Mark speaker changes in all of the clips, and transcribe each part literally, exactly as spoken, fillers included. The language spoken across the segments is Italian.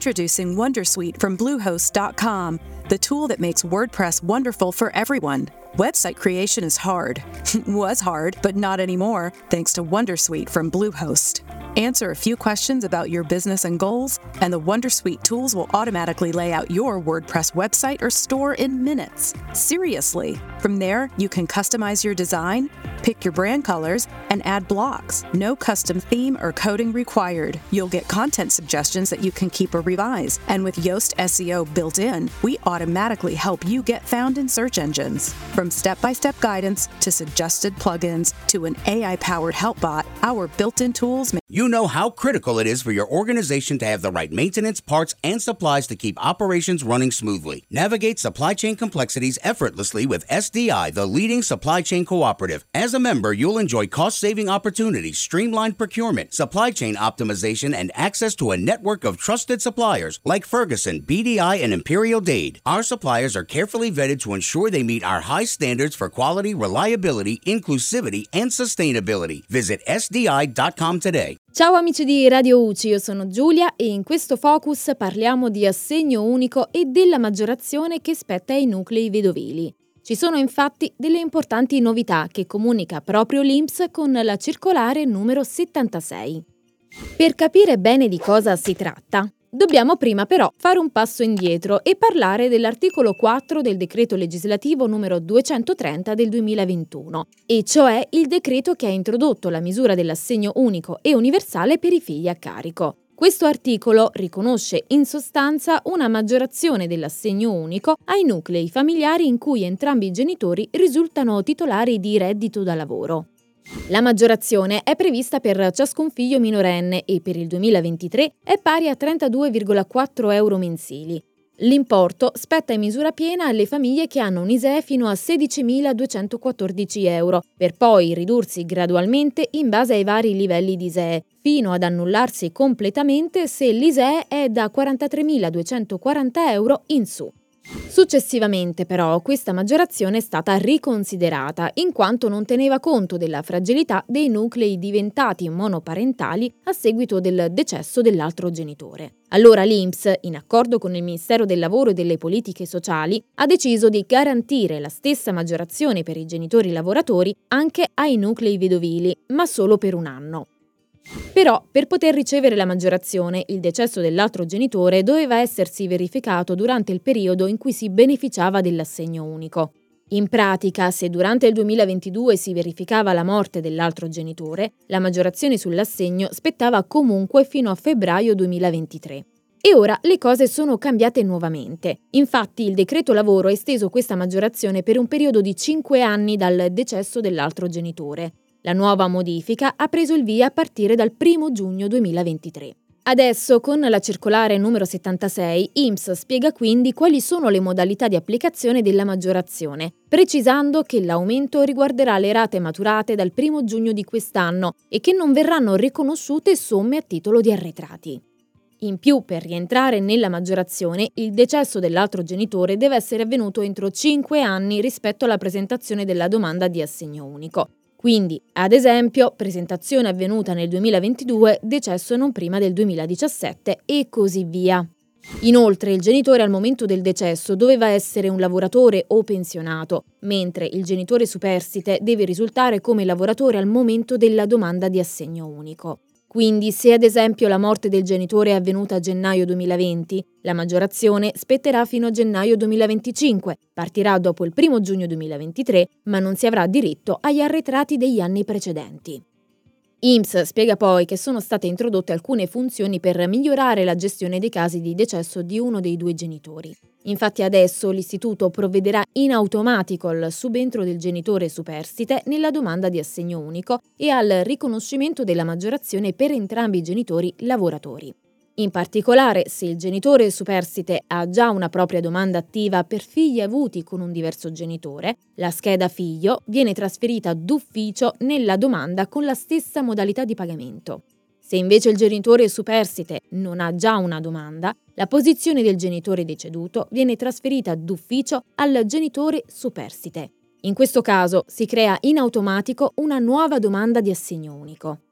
Speaker 1: Introducing Wondersuite from Bluehost dot com, the tool that makes WordPress wonderful for everyone. Website creation is hard. Was hard, but not anymore, thanks to Wondersuite from Bluehost. Answer a few questions about your business and goals, and the Wondersuite tools will automatically lay out your WordPress website or store in minutes. Seriously. From there, you can customize your design, pick your brand colors, and add blocks. No custom theme or coding required. You'll get content suggestions that you can keep or revise. And with Yoast S E O built in, we automatically help you get found in search engines. From step-by-step guidance to suggested plugins to an A I-powered help bot, our built-in tools make
Speaker 2: You know how critical it is for your organization to have the right maintenance, parts, and supplies to keep operations running smoothly. Navigate supply chain complexities effortlessly with S D I, the leading supply chain cooperative. As a member, you'll enjoy cost-saving opportunities, streamlined procurement, supply chain optimization, and access to a network of trusted suppliers like Ferguson, B D I, and Imperial Dade. Our suppliers are carefully vetted to ensure they meet our high standards for quality, reliability, inclusivity, and sustainability. Visit S D I dot com today.
Speaker 3: Ciao amici di Radio U C I, io sono Giulia e in questo focus parliamo di assegno unico e della maggiorazione che spetta ai nuclei vedovili. Ci sono infatti delle importanti novità che comunica proprio l'I N P S con la circolare numero settantasei. Per capire bene di cosa si tratta, dobbiamo prima però fare un passo indietro e parlare dell'articolo quattro del decreto legislativo numero duecentotrenta del duemilaventuno, e cioè il decreto che ha introdotto la misura dell'assegno unico e universale per i figli a carico. Questo articolo riconosce in sostanza una maggiorazione dell'assegno unico ai nuclei familiari in cui entrambi i genitori risultano titolari di reddito da lavoro. La maggiorazione è prevista per ciascun figlio minorenne e per il duemilaventitré è pari a trentadue virgola quattro euro mensili. L'importo spetta in misura piena alle famiglie che hanno un I S E E fino a sedicimiladuecentoquattordici euro, per poi ridursi gradualmente in base ai vari livelli di I S E E, fino ad annullarsi completamente se l'I S E E è da quarantatremiladuecentoquaranta euro in su. Successivamente però questa maggiorazione è stata riconsiderata in quanto non teneva conto della fragilità dei nuclei diventati monoparentali a seguito del decesso dell'altro genitore. Allora l'I N P S, in accordo con il Ministero del Lavoro e delle Politiche Sociali, ha deciso di garantire la stessa maggiorazione per i genitori lavoratori anche ai nuclei vedovili, ma solo per un anno. Però, per poter ricevere la maggiorazione, il decesso dell'altro genitore doveva essersi verificato durante il periodo in cui si beneficiava dell'assegno unico. In pratica, se durante il duemilaventidue si verificava la morte dell'altro genitore, la maggiorazione sull'assegno spettava comunque fino a febbraio duemilaventitré. E ora le cose sono cambiate nuovamente. Infatti il decreto lavoro ha esteso questa maggiorazione per un periodo di cinque anni dal decesso dell'altro genitore. La nuova modifica ha preso il via a partire dal primo giugno duemilaventitré. Adesso, con la circolare numero settantasei, I N P S spiega quindi quali sono le modalità di applicazione della maggiorazione, precisando che l'aumento riguarderà le rate maturate dal primo giugno di quest'anno e che non verranno riconosciute somme a titolo di arretrati. In più, per rientrare nella maggiorazione, il decesso dell'altro genitore deve essere avvenuto entro cinque anni rispetto alla presentazione della domanda di assegno unico. Quindi, ad esempio, presentazione avvenuta nel duemilaventidue, decesso non prima del duemiladiciassette e così via. Inoltre, il genitore al momento del decesso doveva essere un lavoratore o pensionato, mentre il genitore superstite deve risultare come lavoratore al momento della domanda di assegno unico. Quindi, se ad esempio la morte del genitore è avvenuta a gennaio duemilaventi, la maggiorazione spetterà fino a gennaio duemilaventicinque, partirà dopo il primo giugno duemilaventitré, ma non si avrà diritto agli arretrati degli anni precedenti. I N P S spiega poi che sono state introdotte alcune funzioni per migliorare la gestione dei casi di decesso di uno dei due genitori. Infatti adesso l'istituto provvederà in automatico al subentro del genitore superstite nella domanda di assegno unico e al riconoscimento della maggiorazione per entrambi i genitori lavoratori. In particolare, se il genitore superstite ha già una propria domanda attiva per figli avuti con un diverso genitore, la scheda figlio viene trasferita d'ufficio nella domanda con la stessa modalità di pagamento. Se invece il genitore superstite non ha già una domanda, la posizione del genitore deceduto viene trasferita d'ufficio al genitore superstite. In questo caso si crea in automatico una nuova domanda di assegno unico.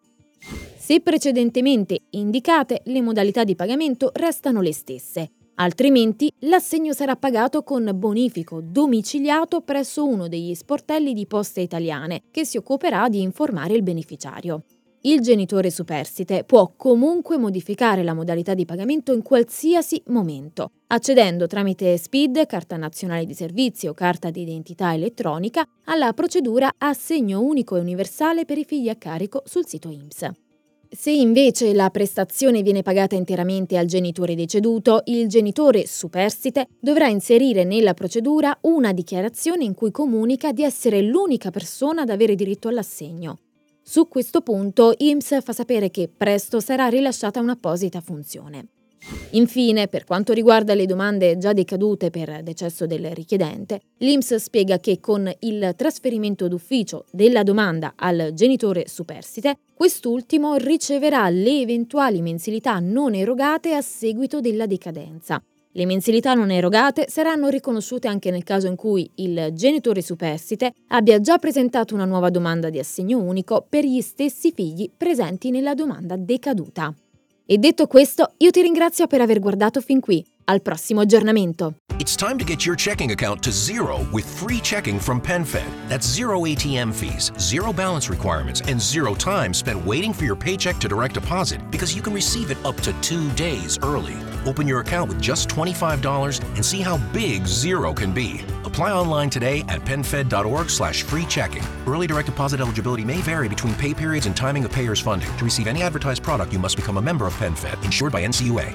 Speaker 3: Se precedentemente indicate, le modalità di pagamento restano le stesse. Altrimenti l'assegno sarà pagato con bonifico domiciliato presso uno degli sportelli di Poste Italiane, che si occuperà di informare il beneficiario. Il genitore superstite può comunque modificare la modalità di pagamento in qualsiasi momento, accedendo tramite S P I D, carta nazionale di servizi o carta di identità elettronica, alla procedura assegno unico e universale per i figli a carico sul sito I N P S. Se invece la prestazione viene pagata interamente al genitore deceduto, il genitore superstite dovrà inserire nella procedura una dichiarazione in cui comunica di essere l'unica persona ad avere diritto all'assegno. Su questo punto I N P S fa sapere che presto sarà rilasciata un'apposita funzione. Infine, per quanto riguarda le domande già decadute per decesso del richiedente, l'I N P S spiega che con il trasferimento d'ufficio della domanda al genitore superstite, quest'ultimo riceverà le eventuali mensilità non erogate a seguito della decadenza. Le mensilità non erogate saranno riconosciute anche nel caso in cui il genitore superstite abbia già presentato una nuova domanda di assegno unico per gli stessi figli presenti nella domanda decaduta. E detto questo, io ti ringrazio per aver guardato fin qui. Al prossimo aggiornamento.
Speaker 4: It's time to get your checking account to zero with free checking from PenFed. That's zero A T M fees, zero balance requirements, and zero time spent waiting for your paycheck to direct deposit because you can receive it up to two days early. Open your account with just twenty-five dollars and see how big zero can be. Apply online today at penfed.org slash free checking. Early direct deposit eligibility may vary between pay periods and timing of payer's funding. To receive any advertised product, you must become a member of PenFed, insured by N C U A.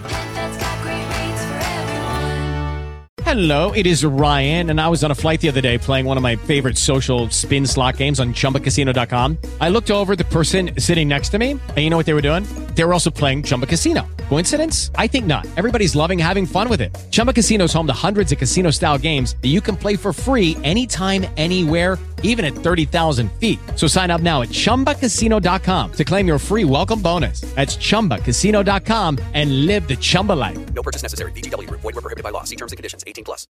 Speaker 5: Hello, it is Ryan, and I was on a flight the other day playing one of my favorite social spin slot games on Chumba Casino dot com. I looked over at the person sitting next to me, and you know what they were doing? They were also playing Chumba Casino. Coincidence? I think not. Everybody's loving having fun with it. Chumba Casino is home to hundreds of casino-style games that you can play for free anytime, anywhere, even at thirty thousand feet. So sign up now at Chumba Casino dot com to claim your free welcome bonus. That's Chumba Casino dot com and live the Chumba life.
Speaker 6: No purchase necessary. V G W. Void where prohibited by law. See terms and conditions. eighteen plus.